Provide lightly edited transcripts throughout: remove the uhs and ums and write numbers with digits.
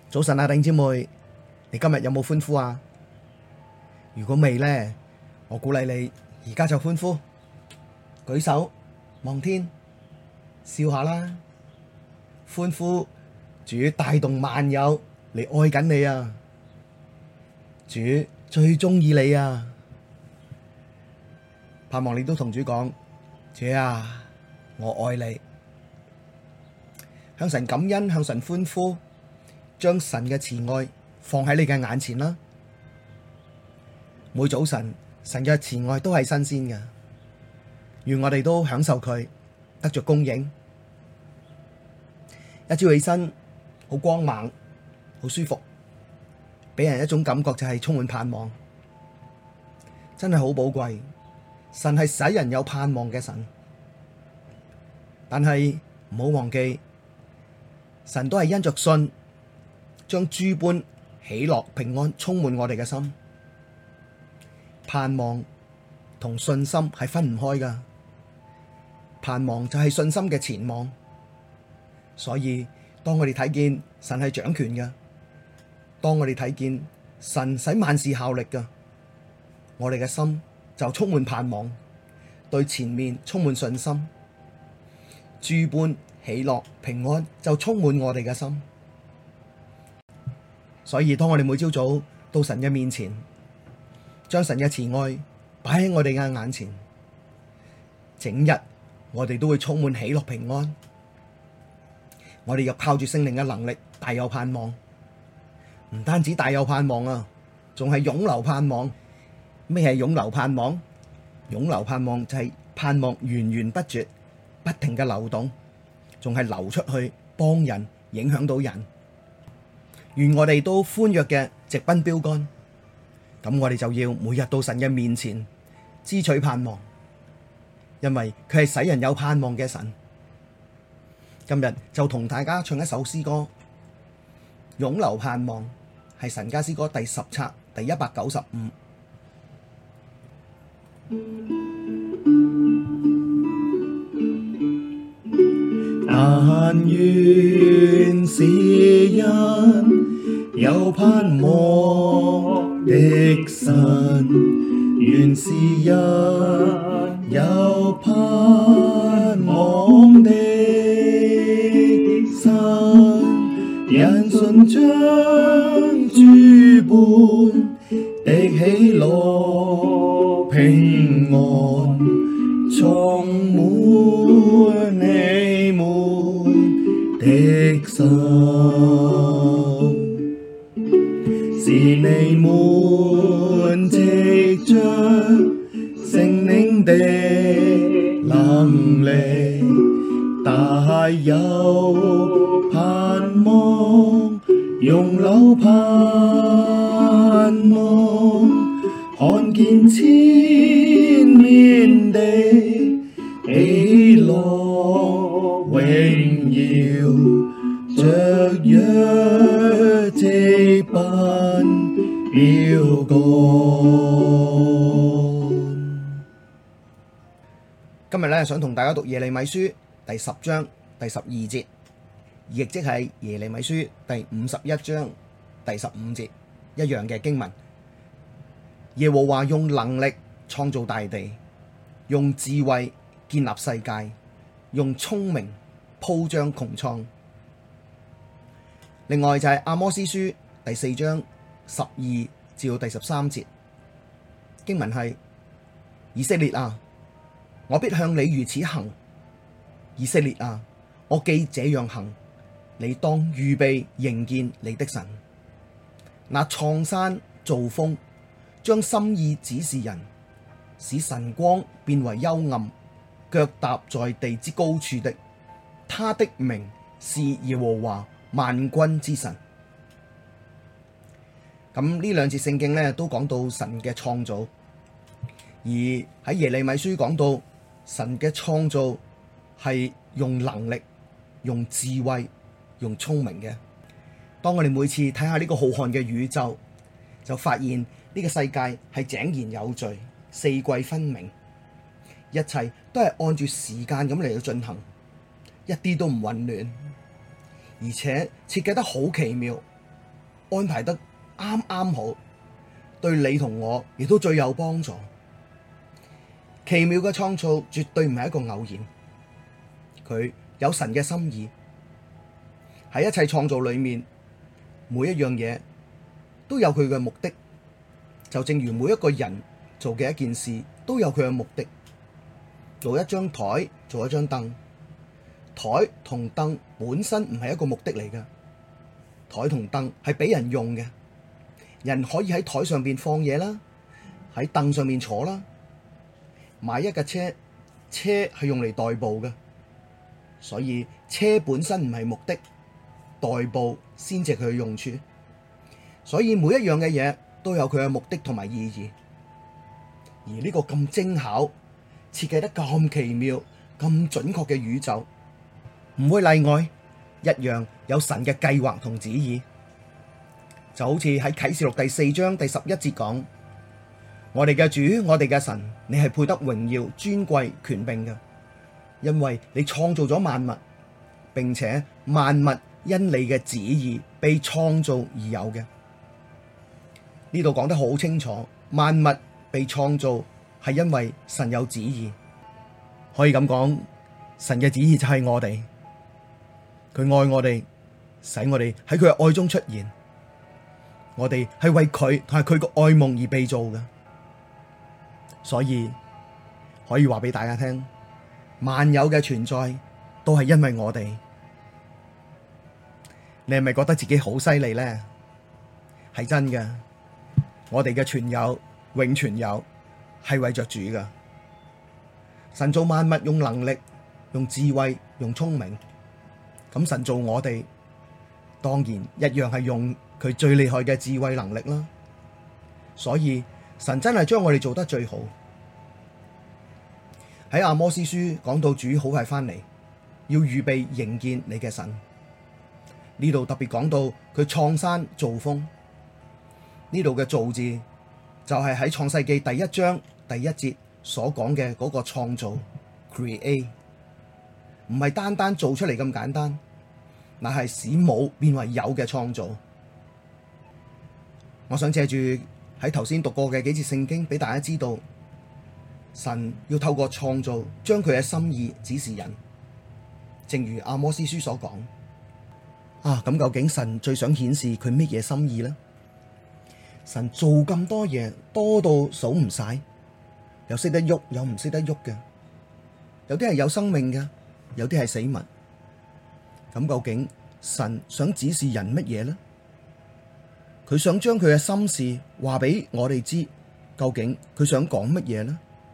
早晨啊，弟兄姊妹，你今日有冇歡呼啊？如果未呢，我鼓勵你而家就歡呼，舉手望天，笑下啦！歡呼，主帶動萬有嚟愛緊你啊！主最鍾意你啊！盼望你都同主講，主啊，我愛你，向神感恩，向神歡呼。將神嘅慈愛放喺你嘅眼前啦！每早晨神嘅慈愛都係新鮮嘅，願我哋都享受佢，得着供應。一朝起身好光猛，好舒服，俾人一種感覺就係充滿盼望，真係好寶貴。神係使人有盼望嘅神，但係唔好忘記，神都係因着信，將諸般喜樂平安充滿我哋嘅心。盼望同信心係分唔開噶，盼望就係信心嘅前望。所以當我哋睇見神係掌權嘅，當我哋睇見神使萬事效力噶，我哋嘅心就充滿盼望，對前面充滿信心。諸般喜樂平安就充滿我哋嘅心。所以當我哋每朝早到神嘅面前，將神嘅慈愛擺喺我哋嘅眼前，整日我哋都會充滿喜樂平安。我哋又靠住聖靈嘅能力，大有盼望。唔單止大有盼望啊，仲係湧流盼望。咩係湧流盼望？湧流盼望就係盼望源源不絕，不停嘅流動，仲係流出去幫人，影響到人。願我哋都歡躍嘅直奔標竿，咁我哋就要每日到神嘅面前支取盼望，因為佢係使人有盼望嘅神。今日就同大家唱一首詩歌《湧流盼望》，係神家詩歌第10冊第195。但願詩人有盼望的神，願詩人有盼望的神，因信將諸般的喜樂平安充滿你們的心，使你們藉着聖靈的能力，大有盼望，湧流盼望，看見前面的喜樂榮耀，雀躍直奔標竿。今日咧想同大家讀耶利米書第10章第12節，亦即係耶利米書第51章第15節一樣嘅經文。耶和華用能力創造大地，用智慧建立世界，用聰明鋪張穹蒼。另外就係阿摩司書第4章12至到第13節經文係：以色列啊，我必向你如此行；以色列啊，我既這樣行，你當預備迎見你的神。那創山造風，將心意指示人，使晨光變為幽暗，腳踏在地之高處的，他的名是耶和華萬軍之神。咁呢兩節聖經呢都講到神嘅創造，而喺耶利米書講到神嘅創造係用能力、用智慧、用聰明嘅。當我哋每次睇下呢個浩瀚嘅宇宙，就發現呢個世界係井然有序、四季分明，一切都係按住時間咁嚟到進行，一啲都唔混亂，而且設計得好奇妙， 安排得啱啱好，對你同我亦都最有幫助。奇妙嘅創造絕對唔係一個偶然，佢有神嘅心意。喺一切創造裏面，每一樣嘢都有佢嘅目的，就正如每一個人做嘅一件事都有佢嘅目的。做一張台，做一張凳，台同凳本身唔係一個目的嚟㗎，台同凳係俾人用嘅，人可以喺台上邊放嘢啦，喺凳上面坐啦。買一架車，車係用嚟代步嘅，所以車本身唔係目的，代步先至係佢嘅用處。所以每一樣嘅嘢都有佢嘅目的同埋意義。而呢個咁精巧、設計得咁奇妙、咁準確嘅宇宙，唔會例外，一樣有神嘅計劃同旨意。就好似喺啟示錄第4章第11節講：我哋嘅主，我哋嘅神，你係配得榮耀、尊貴、權柄嘅，因為你創造咗萬物，並且萬物因你嘅旨意被創造而有嘅。呢度講得好清楚，萬物被創造係因為神有旨意。可以咁講，神嘅旨意就係我哋，佢愛我哋，使我哋喺佢嘅愛中出現。我哋係為佢同埋佢個愛夢而被造嘅。所以可以話俾大家聽，萬有嘅存在都係因為我哋。你係咪覺得自己好犀利呢？係真嘅，我哋嘅存有、永存有係為着主噶。神造萬物用能力、用智慧、用聰明，咁神造我哋，當然一樣係用佢最厲害嘅智慧能力啦。所以神真係將我哋做得最好。喺阿摩司書講到主好快翻嚟，要預備迎見你嘅神。呢度特別講到佢創山造風，呢度嘅造字就係喺創世記第1章第1節所講嘅嗰個創造 create， 唔係單單做出嚟咁簡單，乃係使冇變為有嘅創造。我想借住喺頭先讀過嘅幾節聖經俾大家知道，神要透過創造將佢嘅心意指示人，正如阿摩司書所講。咁究竟神最想顯示佢乜嘢心意呢？神做咁多嘢，多到數唔晒，有識得喐，有唔識得喐嘅，有啲係有生命嘅，有啲係死物。咁究竟神想指示人乜嘢呢？佢想將佢嘅心事話俾我哋知，究竟佢想講乜嘢呢？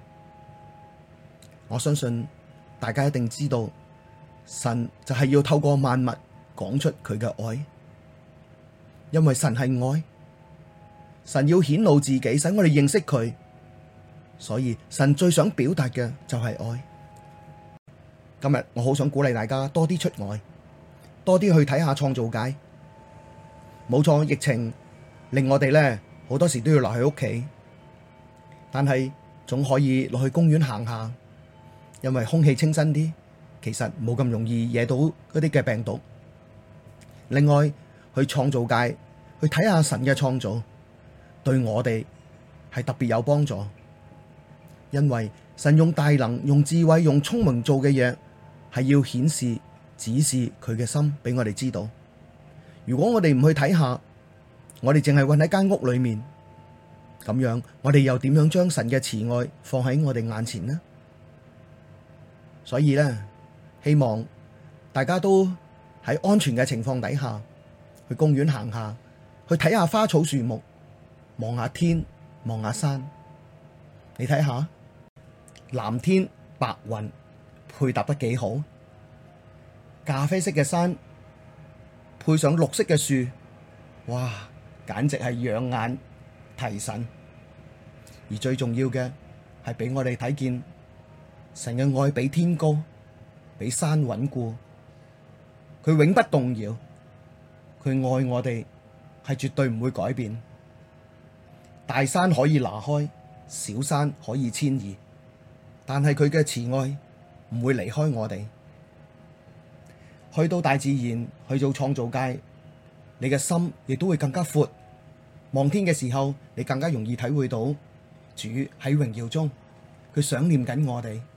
我相信大家一定知道，神就係要透過萬物講出佢嘅愛，因為神係愛，神要顯露自己，使我哋認識佢，所以神最想表達嘅就係愛。今日我好想鼓勵大家多啲出外，多啲去睇下創造界。冇錯，疫情令我哋呢好多時都要留喺屋企，但係總可以落去公園行下，因為空氣清新啲，其實冇咁容易惹到嗰啲嘅病毒。另外去創造界去睇下神嘅創造，對我哋係特別有幫助，因為神用大能、用智慧、用聰明做嘅嘢，係要顯示、指示佢嘅心俾我哋知道。如果我哋唔去睇下，我哋淨係困喺間屋裏面，咁樣我哋又點樣將神嘅慈愛放喺我哋眼前呢？所以呢，希望大家都喺安全嘅情況底下，去公園行下，去睇下花草樹木，望下天，望下山。你睇下藍天白雲配搭得幾好，咖啡色嘅山配上綠色嘅樹，哇，簡直係養眼提神。而最重要嘅係俾我哋睇見神嘅愛比天高，比山穩固。佢永不動搖，佢愛我哋係絕對唔會改變。大山可以拿開，小山可以遷移，但係佢嘅慈愛唔會離開我哋。去到大自然，去做創造界， 你嘅心亦都會更加闊。望天嘅時候，你更加容易體會到主喺榮耀中，佢想念緊我哋。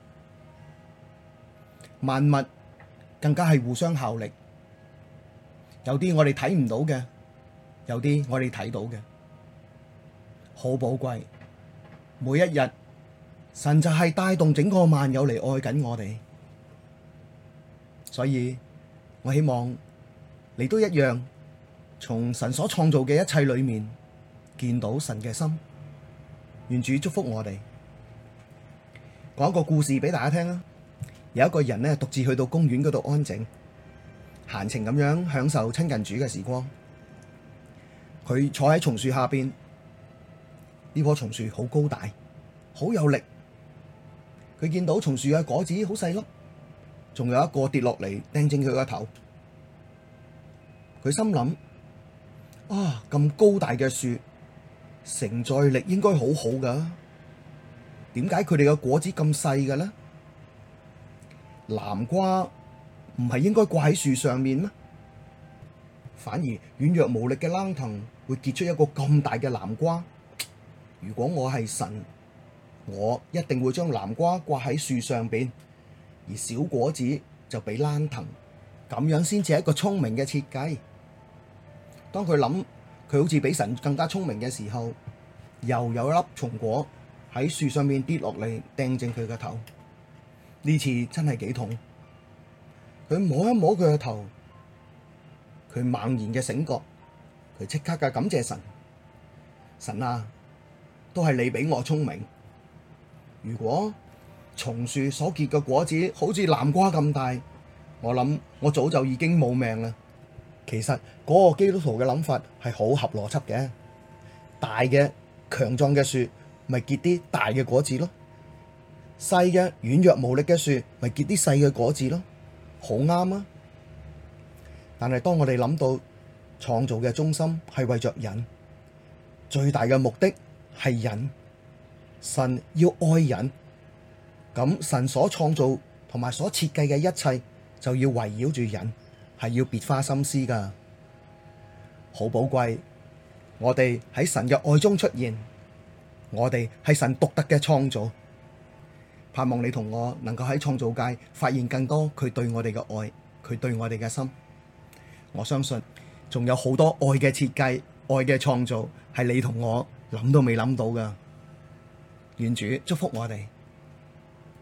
萬物更加係互相效力，有啲我哋睇唔到嘅，有啲我哋睇到嘅，好寶貴。每一日，神就係帶動整個萬有嚟愛緊我哋，所以我希望你都一樣，從神所創造嘅一切裏面見到神嘅心。願主祝福我哋。講一個故事俾大家聽啦。有一個人呢，獨自去到公園嗰度安靜，閒情咁樣享受親近主嘅時光。佢坐喺松樹下邊，呢棵松樹好高大，好有力。佢見到松樹嘅果子好細粒，仲有一個跌落嚟掟正佢個頭。佢心諗：啊，咁高大嘅樹，承載力應該好好噶，點解佢哋嘅果子咁細嘅呢？南瓜唔係應該掛喺樹上面咩？反而軟弱無力嘅蘭藤會結出一個咁大嘅南瓜。如果我係神，我一定會將南瓜掛喺樹上邊，而小果子就俾蘭藤，咁樣先至係一個聰明嘅設計。當佢諗佢好似比神更加聰明嘅時候，又有一粒松果喺樹上面跌落嚟掟正佢個頭。呢次真係幾痛，佢摸一摸佢個頭，佢猛然嘅醒覺，佢即刻嘅感謝神。神啊，都係你比我聰明。如果松樹所結嘅果子好似南瓜咁大，我諗我早就已經冇命啦。其實嗰個基督徒嘅諗法係好合邏輯嘅，大嘅強壯嘅樹咪結啲大嘅果子咯。細嘅軟弱無力嘅樹，咪結啲細嘅果子咯，好啱啊！但係當我哋諗到創造嘅中心係為着人，最大嘅目的係人，神要愛人，咁神所創造同埋所設計嘅一切就要圍繞住人，係要別花心思噶，好寶貴。我哋喺神嘅愛中出現，我哋係神獨特嘅創造。盼望你同我能夠喺創造界發現更多佢對我哋嘅愛，佢對我哋嘅心。我相信仲有好多愛嘅設計、愛嘅創造係你同我諗都未諗到噶。願主祝福我哋。